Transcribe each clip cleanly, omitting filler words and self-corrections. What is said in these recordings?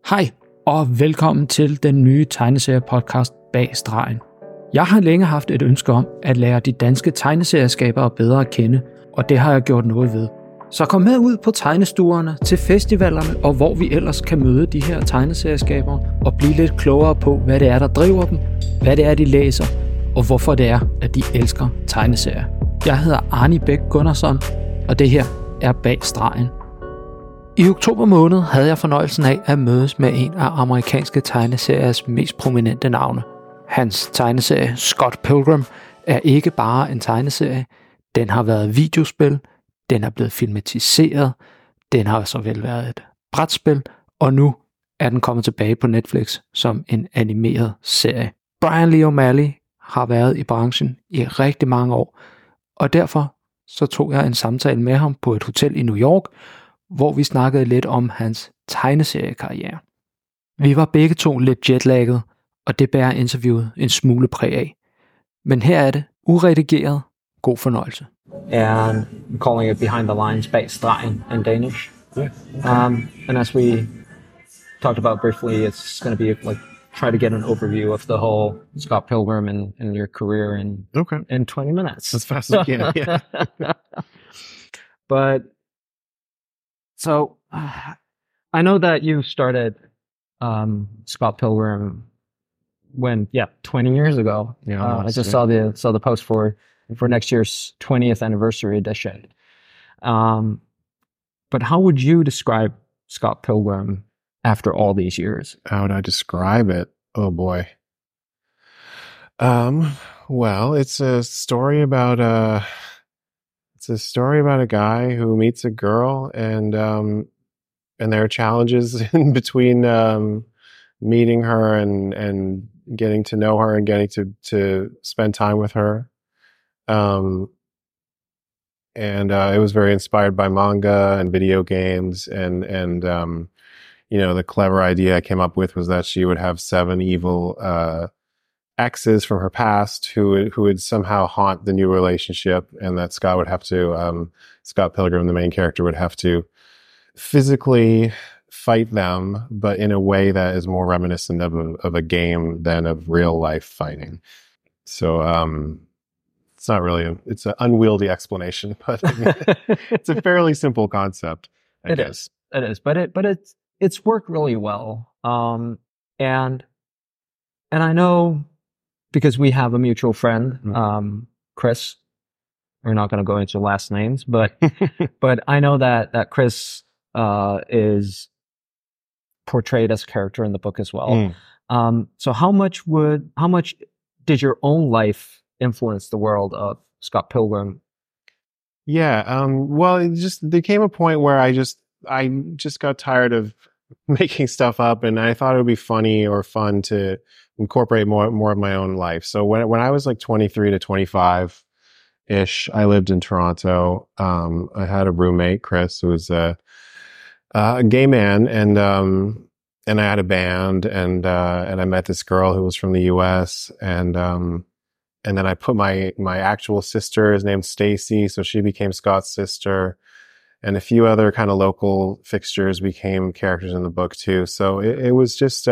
Hej og velkommen til den nye tegneseriepodcast Bag Stregen. Jeg har længe haft et ønske om at lære de danske tegneserieskabere bedre at kende, og det har jeg gjort noget ved. Så kom med ud på tegnestuerne, til festivalerne og hvor vi ellers kan møde de her tegneserieskabere og blive lidt klogere på, hvad det er, der driver dem, hvad det er, de læser, og hvorfor det er, at de elsker tegneserier. Jeg hedder Arnie Bæk Gunnarsson, og det her er Bag Stregen. I oktober måned havde jeg fornøjelsen af at mødes med en af amerikanske tegneseriers mest prominente navne. Hans tegneserie Scott Pilgrim er ikke bare en tegneserie, den har været videospil, den er blevet filmatiseret, den har såvel været et brætspil, og nu er den kommet tilbage på Netflix som en animeret serie. Brian Lee O'Malley har været i branchen i rigtig mange år, og derfor så tog jeg en samtale med ham på et hotel i New York, hvor vi snakkede lidt om hans tegneseriekarriere. Vi var begge to lidt jetlagget, og det bærer interviewet en smule præg af. Men her er det, uredigeret, god fornøjelse. And I'm calling it Behind the Lines, Bag Stregen in Danish. Yeah. And as we talked about briefly, it's going to be like try to get an overview of the whole Scott Pilgrim and your career in 20 minutes. As fast as we can, yeah. But so I know that you started Scott Pilgrim 20 years ago. Yeah, I just saw the post for next year's 20th anniversary edition. But how would you describe Scott Pilgrim after all these years? How would I describe it? Oh boy. Well, it's a story about a guy who meets a girl, and there are challenges in between meeting her and getting to know her and getting to spend time with her. It was very inspired by manga and video games, and the clever idea I came up with was that she would have 7 evil exes from her past who would somehow haunt the new relationship, and that Scott Pilgrim, the main character, would have to physically fight them, but in a way that is more reminiscent of a game than of real life fighting. So it's not really it's an unwieldy explanation, but it's a fairly simple concept, I guess. It is, but it's worked really well. And I know, because we have a mutual friend, Chris. We're not going to go into last names, but I know that Chris is portrayed as a character in the book as well. So how much did your own life influence the world of Scott Pilgrim? Yeah, well, there came a point where I just got tired of making stuff up, and I thought it would be funny or fun to incorporate more of my own life. So when I was like 23 to 25 ish, I lived in Toronto. I had a roommate, Chris, who was a gay man, and I had a band, and I met this girl who was from the US, and then I put my actual sister is named Stacy, so she became Scott's sister, and a few other kind of local fixtures became characters in the book too. So it was just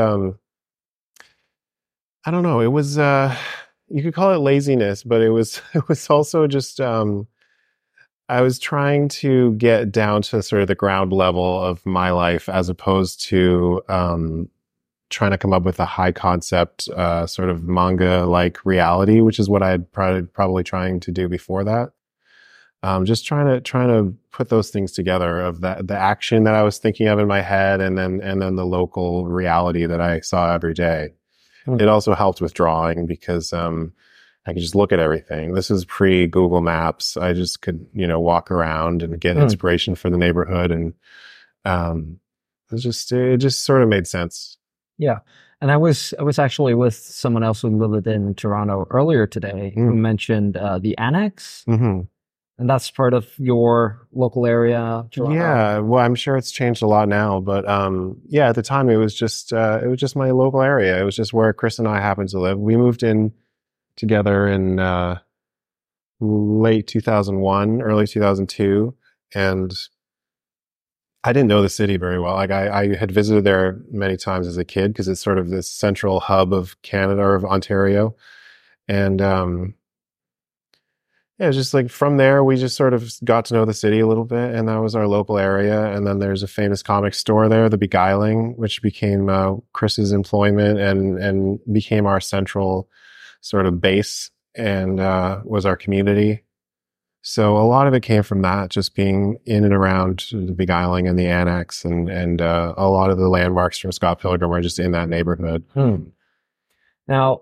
I don't know. It was you could call it laziness, but it was also just I was trying to get down to sort of the ground level of my life, as opposed to trying to come up with a high concept sort of manga like reality, which is what I had probably trying to do before that. Just trying to put those things together, of the action that I was thinking of in my head, and then the local reality that I saw every day. It also helped with drawing, because I could just look at everything. This is pre-Google Maps. I just could, walk around and get inspiration for the neighborhood, and it just sort of made sense. Yeah. And I was actually with someone else who lived in Toronto earlier today, who mentioned the Annex. Mm-hmm. And that's part of your local area, Toronto. Yeah, well, I'm sure it's changed a lot now, but at the time it was just my local area. It was just where Chris and I happened to live. We moved in together in late 2001, early 2002, and I didn't know the city very well. Like I had visited there many times as a kid because it's sort of this central hub of Canada or of Ontario. And yeah, it was just like from there, we just sort of got to know the city a little bit, and that was our local area. And then there's a famous comic store there, The Beguiling, which became Chris's employment and became our central sort of base and was our community. So a lot of it came from that, just being in and around The Beguiling and the Annex, and a lot of the landmarks from Scott Pilgrim are just in that neighborhood. Now,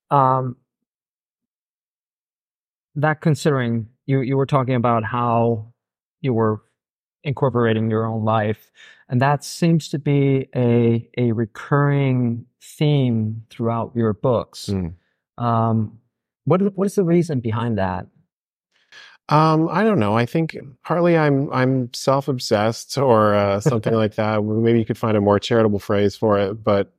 that considering you were talking about how you were incorporating your own life, and that seems to be a recurring theme throughout your books. What is the reason behind that? I don't know. I think partly I'm self-obsessed or something like that. Maybe you could find a more charitable phrase for it, but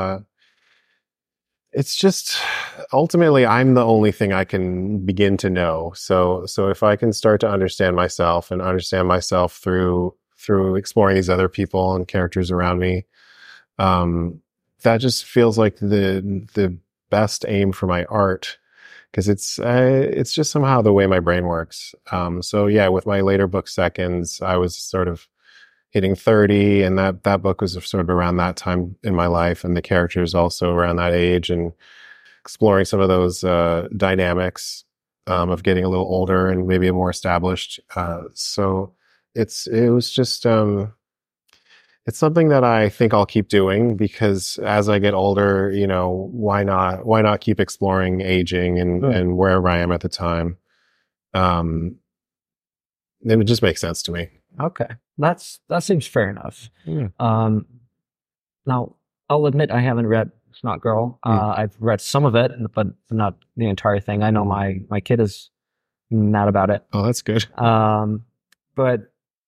it's just ultimately I'm the only thing I can begin to know. So if I can start to understand myself and understand myself through exploring these other people and characters around me, that just feels like the best aim for my art, because it's just somehow the way my brain works. So yeah, with my later book Seconds, I was sort of hitting 30, and that book was sort of around that time in my life, and the characters also around that age, and exploring some of those dynamics of getting a little older and maybe a more established. So it was just it's something that I think I'll keep doing, because as I get older, you know, why not keep exploring aging and wherever I am at the time. It would just make sense to me. Okay, that seems fair enough. Yeah. Now, I'll admit I haven't read Snot Girl. I've read some of it, but not the entire thing. I know my kid is mad about it. Oh, that's good. But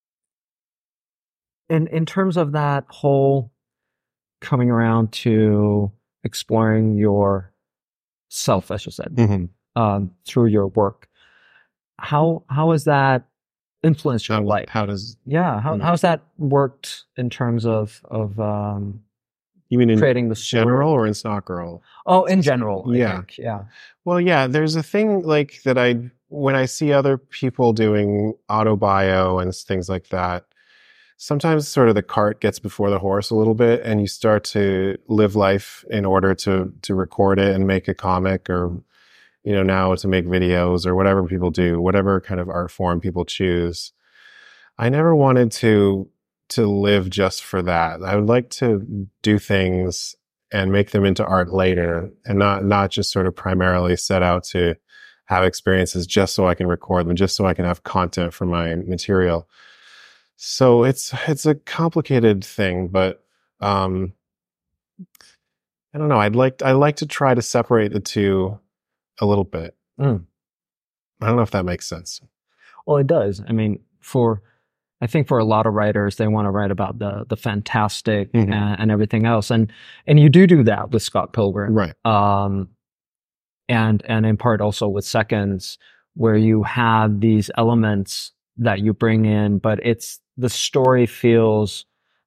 in terms of that whole coming around to exploring your self, as you said, through your work, how has that influenced your life? How's that worked in terms of you mean in creating the general or in Snot Girl? Oh, in general. I Yeah. think. Yeah. Well, yeah, there's a thing like that when I see other people doing autobio and things like that, sometimes sort of the cart gets before the horse a little bit, and you start to live life in order to record it and make a comic, or, you know, now to make videos or whatever people do, whatever kind of art form people choose. I never wanted to live just for that. I would like to do things and make them into art later, and not just sort of primarily set out to have experiences just so I can record them, just so I can have content for my material. So it's a complicated thing, but I don't know. I like to try to separate the two a little bit. I don't know if that makes sense. Well, it does. I mean, I think for a lot of writers, they want to write about the fantastic and everything else, and you do that with Scott Pilgrim, right? And in part also with Seconds, where you have these elements that you bring in, but the story feels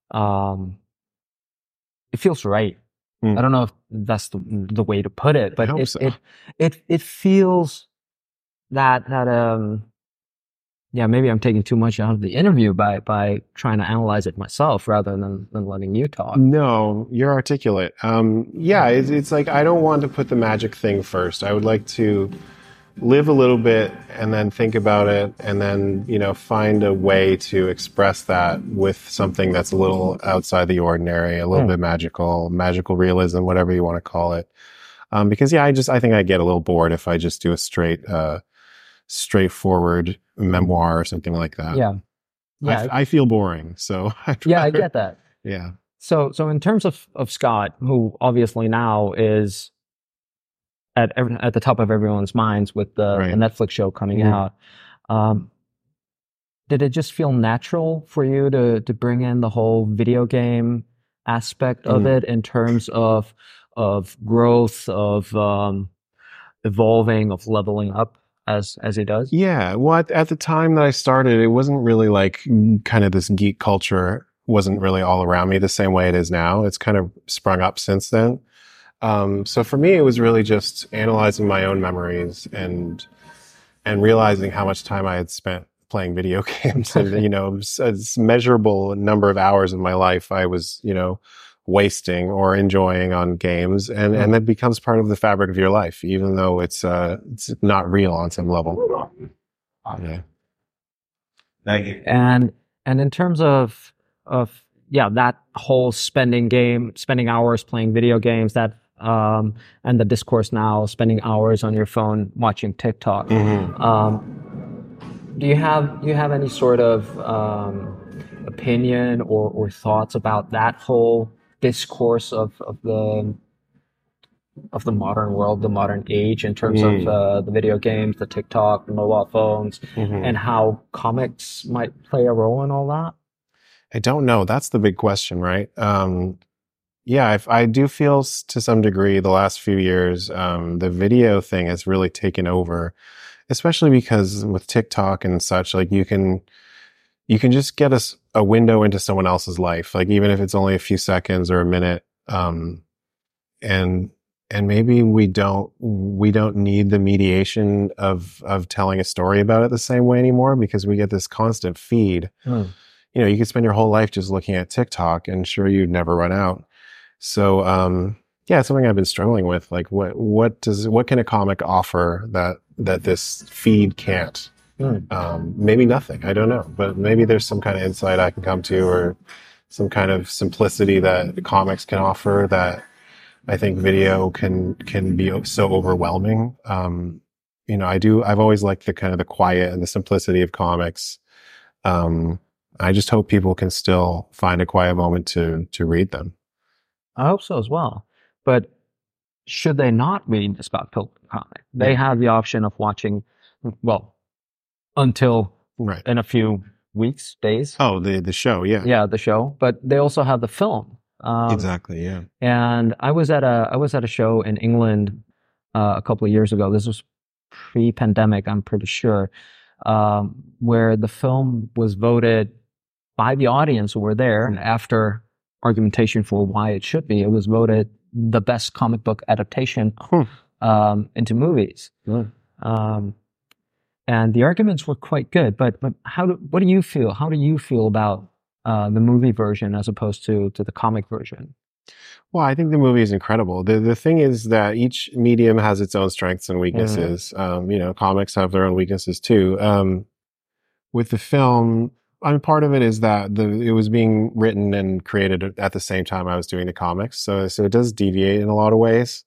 it feels right. I don't know if that's the way to put it, but it feels that yeah, maybe I'm taking too much out of the interview by trying to analyze it myself rather than letting you talk. No, you're articulate. Yeah, it's like I don't want to put the magic thing first. I would like to live a little bit and then think about it, and then, you know, find a way to express that with something that's a little outside the ordinary, a little bit magical realism, whatever you want to call it. Because yeah, I think I get a little bored if I just do a straightforward memoir or something like that. Yeah. I feel boring, so I get that. Yeah. So in terms of Scott, who obviously now is at the top of everyone's minds with the Netflix show coming out, did it just feel natural for you to bring in the whole video game aspect of it in terms of growth, of evolving, of leveling up? as he does? Yeah. Well, at the time that I started, it wasn't really like kind of this geek culture wasn't really all around me the same way it is now. It's kind of sprung up since then. So for me, it was really just analyzing my own memories and realizing how much time I had spent playing video games and, you know, a measurable number of hours of my life I was, you know, wasting or enjoying on games. And that becomes part of the fabric of your life, even though it's not real on some level. Yeah. Thank you. And in terms of that whole spending hours playing video games, that and the discourse now, spending hours on your phone watching TikTok. Do you have any sort of opinion or thoughts about that whole discourse of the modern world, the modern age, in terms of the video games, the TikTok, the mobile phones, and how comics might play a role in all that? I don't know. That's the big question, right? Yeah, I do feel to some degree the last few years, the video thing has really taken over, especially because with TikTok and such, like you can just get a window into someone else's life, like even if it's only a few seconds or a minute. And maybe we don't need the mediation of telling a story about it the same way anymore, because we get this constant feed. You know, you could spend your whole life just looking at TikTok and sure you'd never run out. So, yeah, it's something I've been struggling with. Like what can a comic offer that this feed can't? Maybe nothing. I don't know, but maybe there's some kind of insight I can come to, or some kind of simplicity that comics can offer that I think video can be so overwhelming. You know, I've always liked the kind of the quiet and the simplicity of comics. I just hope people can still find a quiet moment to read them. I hope so as well. But should they not read the Scott Pilgrim comic? They have the option of watching, well, until in a few weeks, days. Oh, the show, yeah. Yeah, the show. But they also have the film. Exactly, yeah. And I was at a show in England a couple of years ago. This was pre-pandemic, I'm pretty sure, where the film was voted by the audience who were there, and after argumentation for why it should be, it was voted the best comic book adaptation into movies. And the arguments were quite good. But what do you feel? How do you feel about the movie version as opposed to the comic version? Well, I think the movie is incredible. The thing is that each medium has its own strengths and weaknesses. You know, comics have their own weaknesses too. With the film, part of it is that it was being written and created at the same time I was doing the comics. So it does deviate in a lot of ways.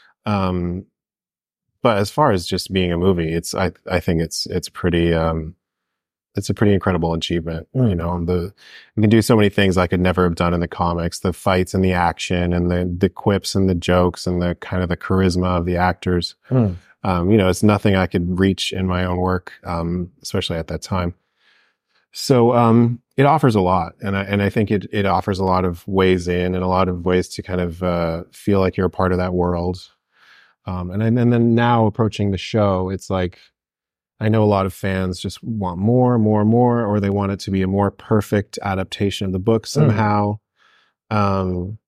But as far as just being a movie, I think it's pretty, it's a pretty incredible achievement. You know, you can do so many things I could never have done in the comics, the fights and the action and the quips and the jokes and the kind of the charisma of the actors. You know, it's nothing I could reach in my own work, especially at that time. So, it offers a lot, and I think it offers a lot of ways in and a lot of ways to kind of, feel like you're a part of that world. And then now approaching the show, it's like, I know a lot of fans just want more, or they want it to be a more perfect adaptation of the book somehow. And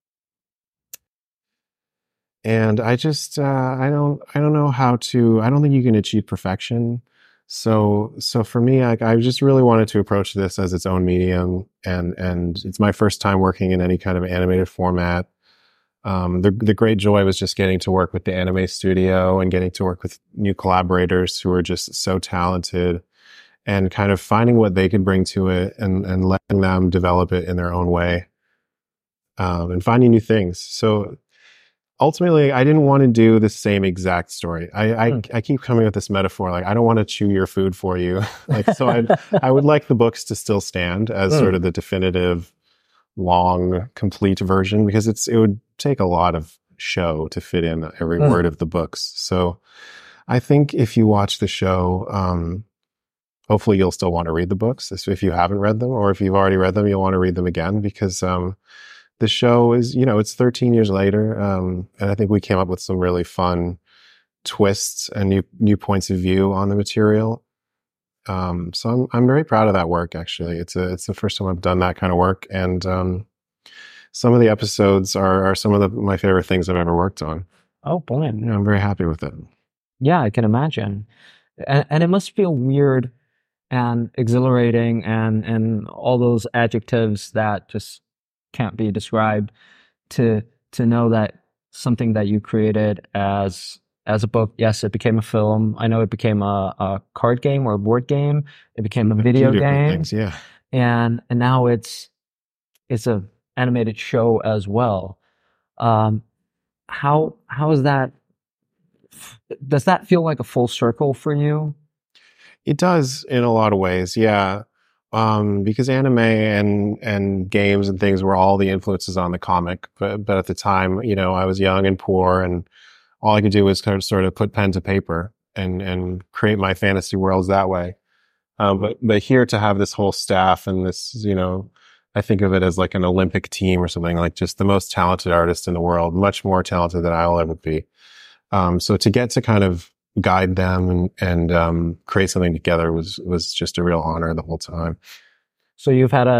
I just, I don't know how to, I don't think you can achieve perfection. So for me, I just really wanted to approach this as its own medium, and it's my first time working in any kind of animated format. The great joy was just getting to work with the anime studio and getting to work with new collaborators who are just so talented, and kind of finding what they could bring to it and letting them develop it in their own way, and finding new things. So ultimately, I didn't want to do the same exact story. I keep coming with this metaphor, like I don't want to chew your food for you. Like, so I would like the books to still stand as sort of the definitive, long, complete version, because it would take a lot of show to fit in every word of the books. So I think if you watch the show, hopefully you'll still want to read the books if you haven't read them, or if you've already read them, you'll want to read them again, because the show is, you know, it's 13 years later, and I think we came up with some really fun twists and new points of view on the material. So I'm very proud of that work. Actually, it's the first time I've done that kind of work, and some of the episodes are some of my favorite things I've ever worked on. Oh boy, I'm very happy with it. Yeah, I can imagine, and it must feel weird and exhilarating and all those adjectives that just can't be described to know that something that you created as a book, yes, it became a film. I know it became a card game or a board game. It became a video game. Things, yeah. And now it's a animated show as well. How is that? Does that feel like a full circle for you? It does in a lot of ways, yeah. Because anime and games and things were all the influences on the comic, but at the time, I was young and poor, and all I could do was sort of put pen to paper and create my fantasy worlds that way. But here to have this whole staff and this, I think of it as like an Olympic team or something, like just the most talented artists in the world, much more talented than I'll ever be. So to get to kind of guide them and create something together was just a real honor the whole time. So you've had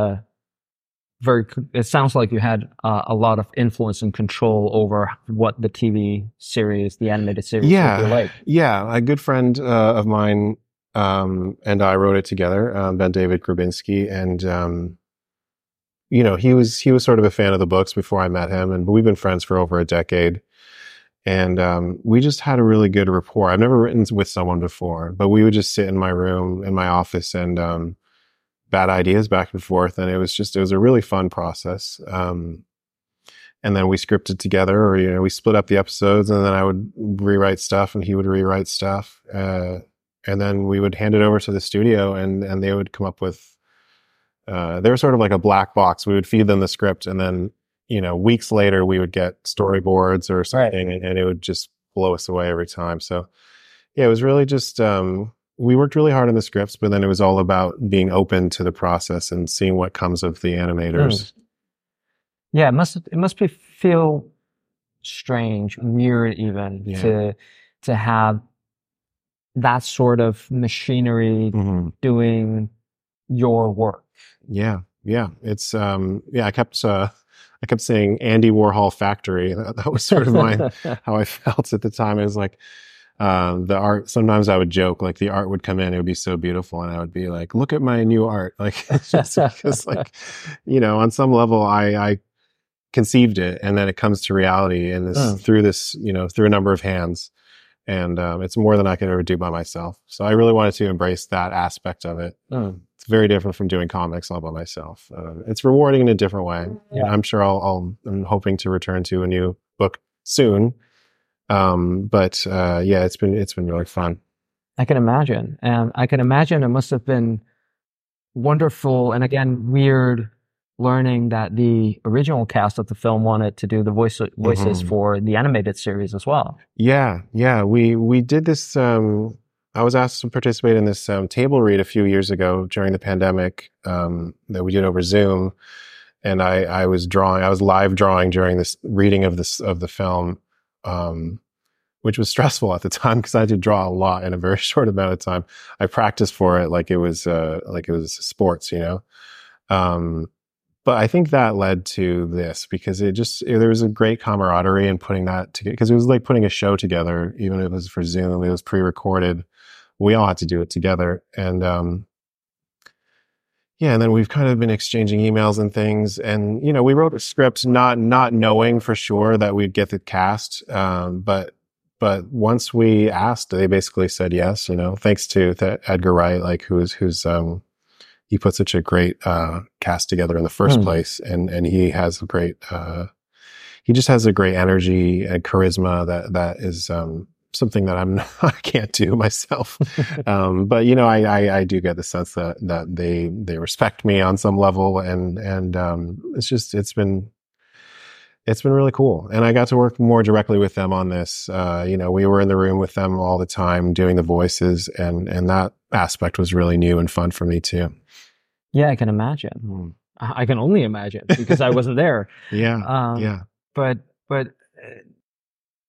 it sounds like you had a lot of influence and control over what the TV series, the animated series would be like. Yeah. A good friend of mine and I wrote it together, Ben David Grabinski, and he was sort of a fan of the books before I met him, and we've been friends for over a decade. And we just had a really good rapport. I've never written with someone before, but we would just sit in my room, in my office, and bat ideas back and forth. And it was a really fun process. And then we scripted together, or, we split up the episodes, and then I would rewrite stuff and he would rewrite stuff. And then we would hand it over to the studio, and they would come up with, they were sort of like a black box. We would feed them the script, and then, weeks later we would get storyboards or something, right, and it would just blow us away every time. So yeah, it was really just, we worked really hard on the scripts, but then it was all about being open to the process and seeing what comes of the animators. Yeah, it must feel strange, weird even, to have that sort of machinery doing your work. Yeah. It's I kept saying Andy Warhol Factory. That was sort of how I felt at the time. It was like, the art, sometimes I would joke, like the art would come in, it would be so beautiful, and I would be like, look at my new art. Like, it's just because, like, on some level I conceived it, and then it comes to reality and through a number of hands. And it's more than I could ever do by myself. So I really wanted to embrace that aspect of it. It's very different from doing comics all by myself. It's rewarding in a different way. Yeah. I'm sure I'm hoping to return to a new book soon. But it's been really fun. I can imagine. And I can imagine it must have been wonderful and, again, weird learning that the original cast of the film wanted to do the voices for the animated series as well. Yeah. We did this. I was asked to participate in this table read a few years ago during the pandemic that we did over Zoom, and I was live drawing during this reading of the film, which was stressful at the time because I had to draw a lot in a very short amount of time. I practiced for it like it was sports, But I think that led to this because there was a great camaraderie in putting that together, because it was like putting a show together, even if it was for Zoom, it was pre-recorded. We all had to do it together. And, and then we've kind of been exchanging emails and things. And, we wrote a script, not knowing for sure that we'd get the cast. But once we asked, they basically said yes, thanks to Edgar Wright, like who's he put such a great cast together in the first place, and he has he just has a great energy and charisma that is something that I can't do myself. But I do get the sense that they respect me on some level, and it's been really cool. And I got to work more directly with them on this. We were in the room with them all the time doing the voices, and that aspect was really new and fun for me too. Yeah, I can imagine. I can only imagine because I wasn't there. Yeah. But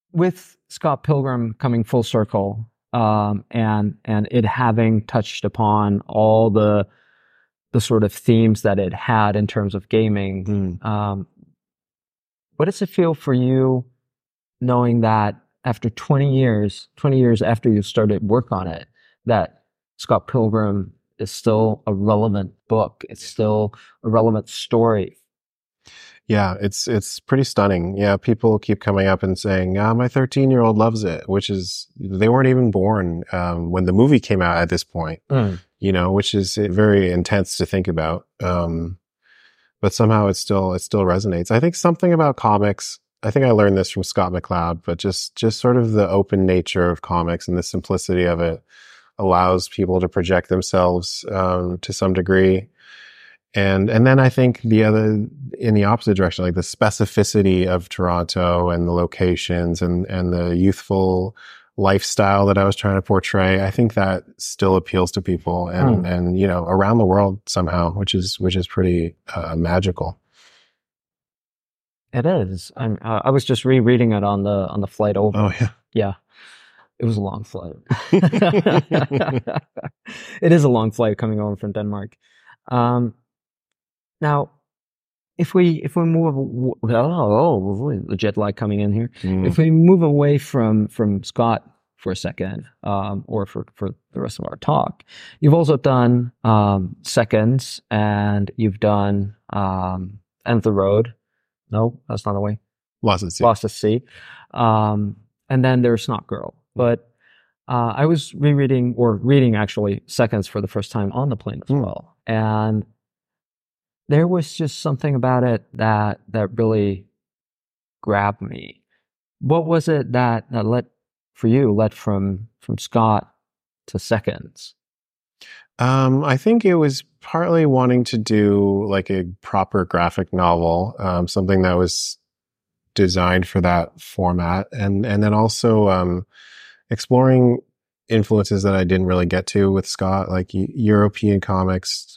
with Scott Pilgrim coming full circle, and it having touched upon all the sort of themes that it had in terms of gaming, what does it feel for you knowing that after 20 years after you started work on it, that Scott Pilgrim is still a relevant book, it's still a relevant story? Yeah, it's pretty stunning. Yeah, people keep coming up and saying, my 13-year-old loves it, which is, they weren't even born when the movie came out at this point, which is very intense to think about. But somehow it still resonates. I think something about comics, I think I learned this from Scott McCloud, but just sort of the open nature of comics and the simplicity of it allows people to project themselves to some degree. And then I think in the opposite direction, like the specificity of Toronto and the locations and the youthful lifestyle that I was trying to portray, I think that still appeals to people and around the world somehow, which is pretty magical. It is. I was just rereading it on the flight over. Oh yeah. Yeah. It was a long flight. It is a long flight coming over from Denmark. Now, if we move, the jet lag coming in here. If we move away from Scott for a second, or for the rest of our talk, you've also done Seconds, and you've done End of the Road. No, that's not the way. Lost at Sea. Lost at Sea. And then there's Snot Girl. But I was reading actually Seconds for the first time on the plane as well, and there was just something about it that really grabbed me. What was it that led from Scott to Seconds? I think it was partly wanting to do like a proper graphic novel, something that was designed for that format, and then also exploring influences that I didn't really get to with Scott, like European comics,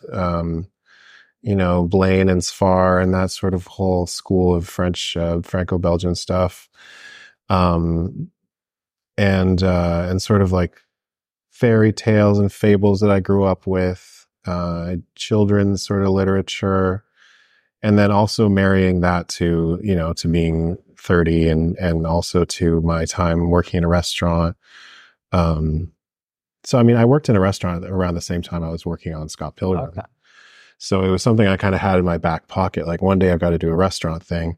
Blaine and Sfar and that sort of whole school of French, Franco-Belgian stuff. And sort of like fairy tales and fables that I grew up with, children's sort of literature, and then also marrying that to being 30 and also to my time working in a restaurant. So, I mean, I worked in a restaurant around the same time I was working on Scott Pilgrim. Okay. So it was something I kind of had in my back pocket. Like one day I've got to do a restaurant thing.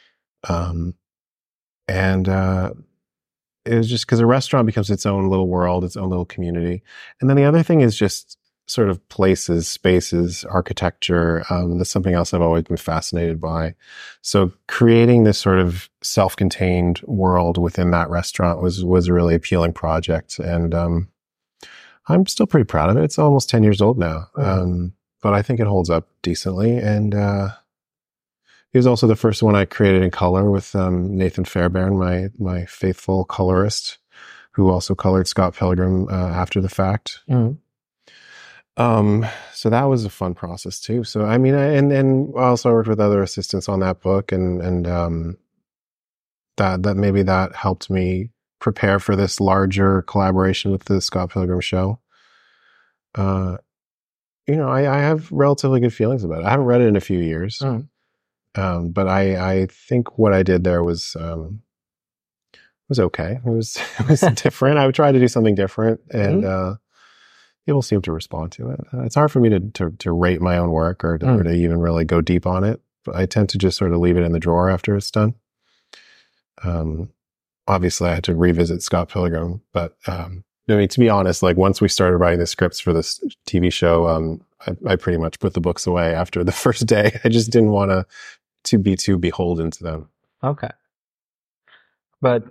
It was just because a restaurant becomes its own little world, its own little community. And then the other thing is just sort of places, spaces, architecture. That's something else I've always been fascinated by. So creating this sort of self-contained world within that restaurant was a really appealing project. And I'm still pretty proud of it. It's almost 10 years old now. But I think it holds up decently. And it was also the first one I created in color with Nathan Fairbairn, my faithful colorist, who also colored Scott Pilgrim after the fact. So that was a fun process too. So I mean, and also I worked with other assistants on that book, and that maybe that helped me prepare for this larger collaboration with the Scott Pilgrim show. I have relatively good feelings about it. I haven't read it in a few years. But I think what I did there was okay. It was different. I would try to do something different, and people seem to respond to it. It's hard for me to rate my own work or to even really go deep on it. But I tend to just sort of leave it in the drawer after it's done. Obviously, I had to revisit Scott Pilgrim, but I mean, to be honest, like once we started writing the scripts for this TV show, I pretty much put the books away after the first day. I just didn't want to be too beholden to them. Okay. But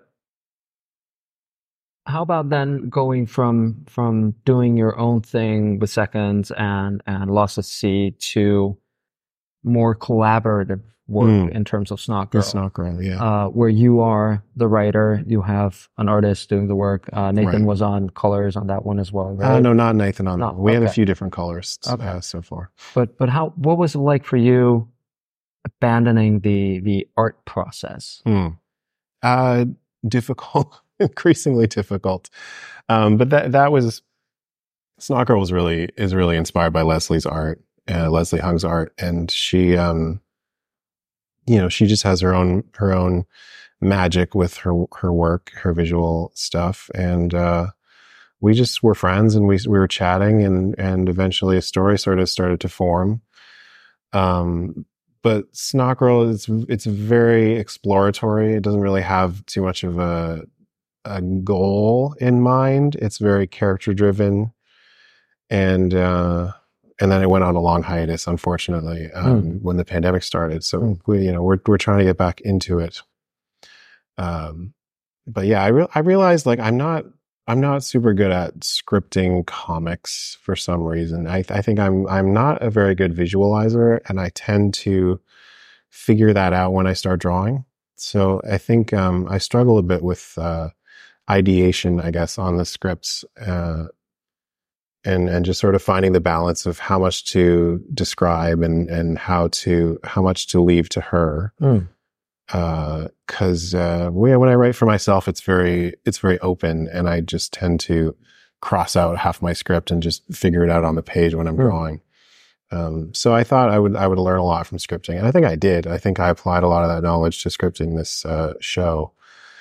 how about then going from doing your own thing with Seconds and Lost at Sea to more collaborative work in terms of Snot Girl? Snot Girl, yeah. Where you are the writer, you have an artist doing the work. Nathan was on colors on that one as well, right? No, not Nathan on that one. We had a few different colorists so far. But what was it like for you abandoning the art process? difficult, increasingly difficult. But that was, Snot Girl is really inspired by Leslie's art, Leslie Hung's art. And she, she just has her own magic with her work, her visual stuff. And, we just were friends, and we were chatting, and eventually a story sort of started to form. But Snot Girl it's very exploratory. It doesn't really have too much of a goal in mind. It's very character driven, and then it went on a long hiatus, unfortunately, when the pandemic started. So we're trying to get back into it. But yeah, I realized like I'm not super good at scripting comics for some reason. I think I'm not a very good visualizer, and I tend to figure that out when I start drawing. So I think I struggle a bit with ideation, I guess, on the scripts, and just sort of finding the balance of how much to describe and how much to leave to her. Cause, when I write for myself, it's very open, and I just tend to cross out half my script and just figure it out on the page when I'm drawing. So I thought I would learn a lot from scripting, and I think I did. I think I applied a lot of that knowledge to scripting this, show,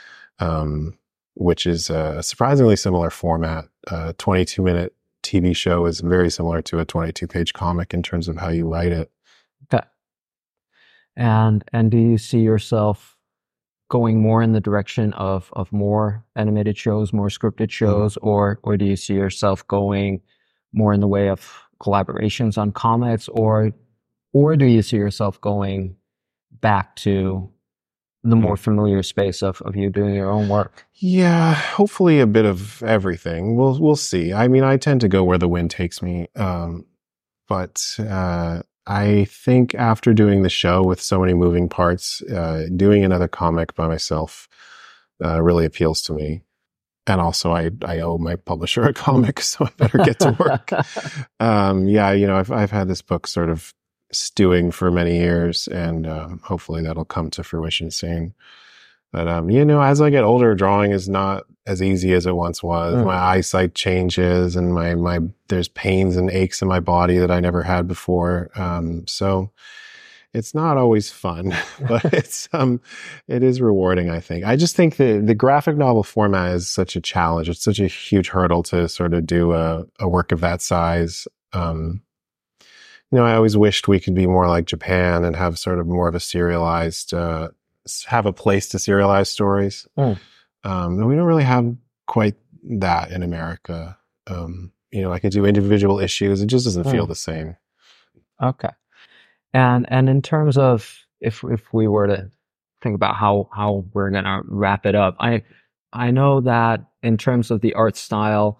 which is a surprisingly similar format. 22-minute TV show is very similar to a 22-page comic in terms of how you write it. Okay. And do you see yourself going more in the direction of more animated shows, more scripted shows, or do you see yourself going more in the way of collaborations on comics, or do you see yourself going back to the more familiar space of you doing your own work? Yeah, hopefully a bit of everything. We'll see. I mean, I tend to go where the wind takes me. But I think after doing the show with so many moving parts, doing another comic by myself really appeals to me. And also, I owe my publisher a comic, so I better get to work. I've had this book sort of stewing for many years, and hopefully that'll come to fruition soon. But as I get older, drawing is not as easy as it once was. My eyesight changes, and my there's pains and aches in my body that I never had before. So it's not always fun, but it is rewarding, I think. I just think the graphic novel format is such a challenge. It's such a huge hurdle to sort of do a work of that size. I always wished we could be more like Japan and have sort of more of a serialized, have a place to serialize stories. We don't really have quite that in America. I could do individual issues. It just doesn't feel the same. Okay. And in terms of if we were to think about how we're gonna wrap it up, I know that in terms of the art style,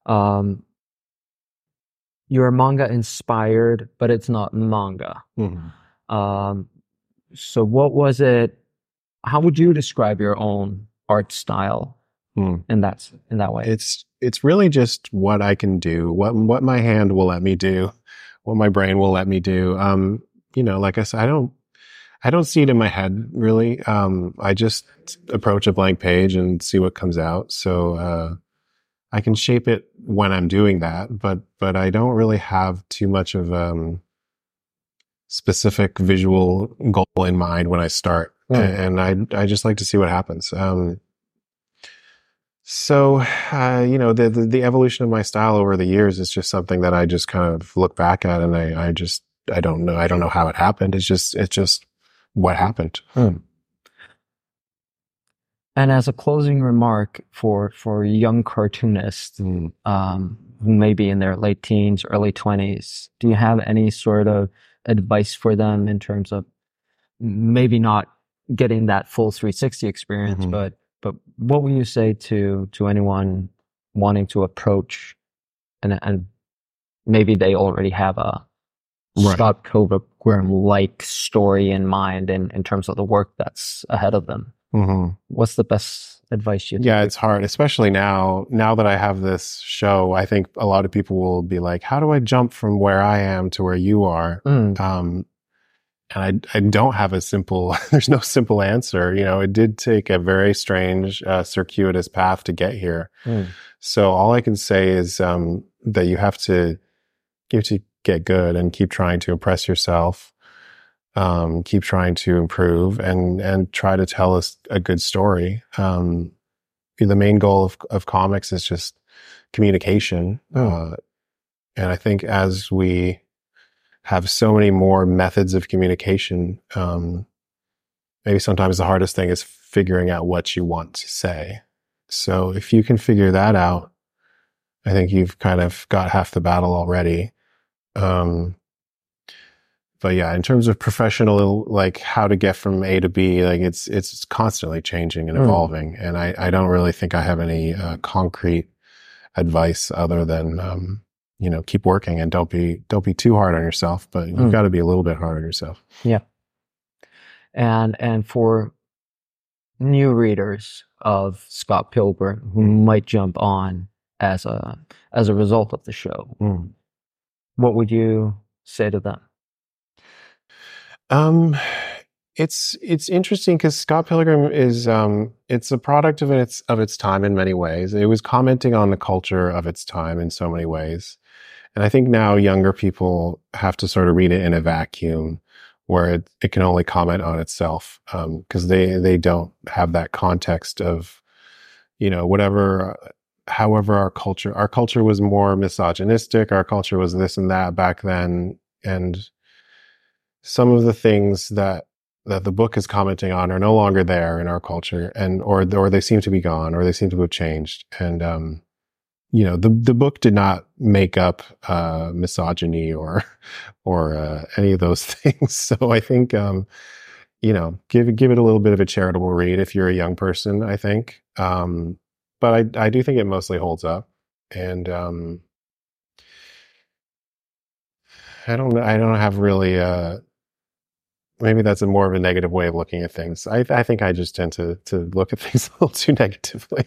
you're manga inspired, but it's not manga. So what was it? How would you describe your own art style in that way? It's really just what I can do, what my hand will let me do, what my brain will let me do. Like I said, I don't see it in my head really. I just approach a blank page and see what comes out. So I can shape it when I'm doing that, but I don't really have too much of specific visual goal in mind when I start. And I just like to see what happens. The evolution of my style over the years is just something that I just kind of look back at, and I don't know how it happened. It's just what happened. And as a closing remark for young cartoonists who may be in their late teens, early 20s, do you have any sort of advice for them in terms of maybe not getting that full 360 experience, but what would you say to anyone wanting to approach and maybe they already have a Scott Pilgrim-like story in mind in terms of the work that's ahead of them? What's the best advice you think? Yeah, it's hard, especially now that I have this show. I think a lot of people will be like, how do I jump from where I am to where you are? I don't have a simple, there's no simple answer. You know, it did take a very strange, circuitous path to get here. So all I can say is that you have to get good and keep trying to impress yourself, keep trying to improve, and try to tell us a good story. The main goal of comics is just communication. And I think as we have so many more methods of communication, maybe sometimes the hardest thing is figuring out what you want to say. So if you can figure that out, I think you've kind of got half the battle already. But yeah, in terms of professional, like how to get from A to B, like it's constantly changing and evolving. And I don't really think I have any concrete advice other than, you know, keep working and don't be too hard on yourself, but you've got to be a little bit hard on yourself. Yeah. And for new readers of Scott Pilgrim who might jump on as a result of the show, what would you say to them? It's interesting because Scott Pilgrim is it's a product of its time in many ways. It was commenting on the culture of its time in so many ways. And I think now younger people have to sort of read it in a vacuum where it can only comment on itself, because they don't have that context of, you know, however our culture was more misogynistic, our culture was this and that back then, and some of the things that the book is commenting on are no longer there in our culture, or they seem to be gone, or they seem to have changed. And you know, the book did not make up misogyny or any of those things. So I think you know, give it a little bit of a charitable read if you're a young person, I think. But I do think it mostly holds up. And I don't have really maybe that's more of a negative way of looking at things. I think I just tend to look at things a little too negatively.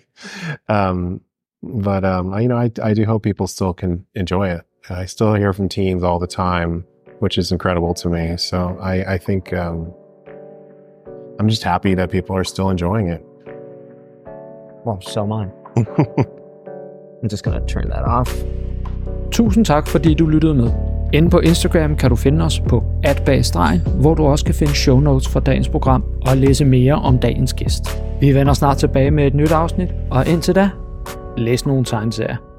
But you know, I do hope people still can enjoy it. I still hear from teens all the time, which is incredible to me. So I think I'm just happy that people are still enjoying it. Well, so am I. I'm just gonna turn that off. Tusind tak, fordi du lyttede med. Inde på Instagram kan du finde os på @bagstregen, hvor du også kan finde show notes fra dagens program og læse mere om dagens gæst. Vi vender snart tilbage med et nyt afsnit, og indtil da, læs nogle tegneserier.